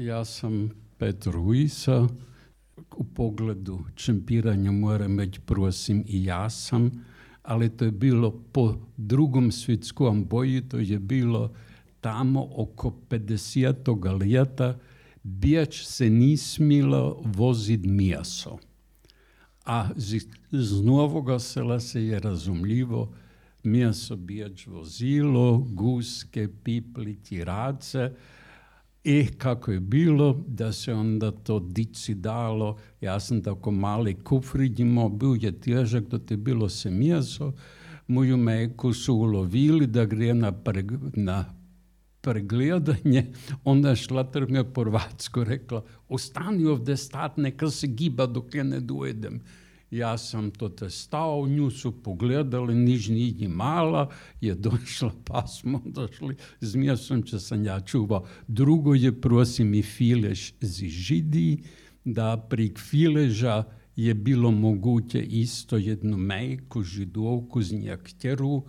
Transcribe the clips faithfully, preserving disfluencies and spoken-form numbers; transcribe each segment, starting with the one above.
Ja sam Petr Ujsa. U pogledu čempiranja moram reći, prosim, i ja sam, ali to je bilo po drugom svjetskom boju, to je bilo tamo oko pedesetoga ljeta, bijeć se ni smilo vozit mjeso. A z, z Novoga Sela se je razumljivo mjesto bijeć vozilo, guske, pipli, tirace. I kako je bilo, da se onda to dici dalo, ja sam tako mali kufrić imao, bio je težak, da te bilo se mjeso, moju meku su ulovili da gre na, preg, na pregledanje, onda je šlater mi je po hrvatsko rekla, ostani ovdje stat, neka se giba dok ja ne dojedem. Ja sam to te stao, nju su pogledali, niž ni mala, je došla, pa smo došli, z mjesom će sam ja čuvao. Drugo je, prosim, i filež z židi, da pri fileža je bilo moguće isto jednu mejku, židovku z njektjeru, uh,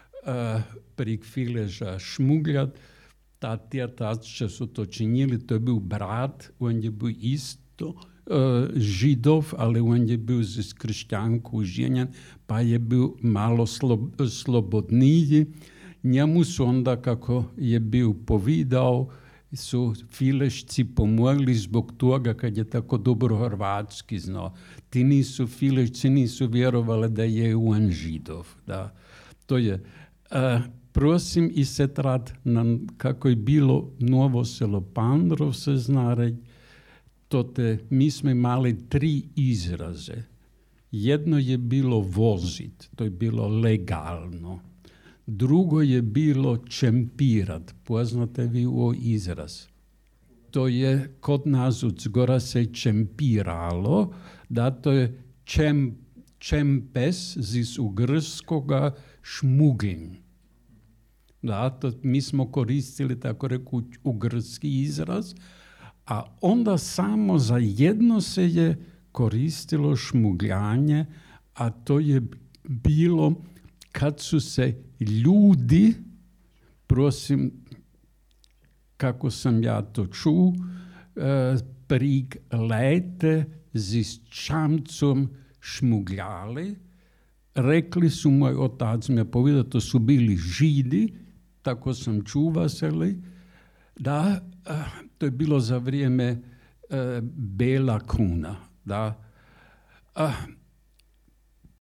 pri fileža šmugljat. Ta tjetače su to činili, to je bil brat, on je bil isto, Židov, ali on je bil z kršćanku ženjen, pa je bil malo slo, slobodniji. Njemu su onda, kako je bil povidao, su filešci pomogli zbog toga kad je tako dobro hrvatski znao. Ti nisu filešci, nisu vjerovali da je on Židov. Da. To je, uh, prosim i se trat, nam, kako je bilo Novo Selo Pandrov, se zna reći, to te, mi smo imali tri izraze. Jedno je bilo vozit, to je bilo legalno. Drugo je bilo čempirat, poznate vi ovo izraz. To je kod nas u Zgora se čempiralo, da to je čem, čempes iz ugrskoga šmuglin. Da, to mi smo koristili, tako reku, ugrski izraz, a onda samo za jedno se je koristilo šmugljanje, a to je bilo kad su se ljudi, prosim, kako sam ja to čuo, eh, prig lete z čamcom šmugljali. Rekli su, moj otac mi je povedao, to su bili Židi, tako sam čuvaseli, da, to je bilo za vrijeme e, Bela Kuna, da. A,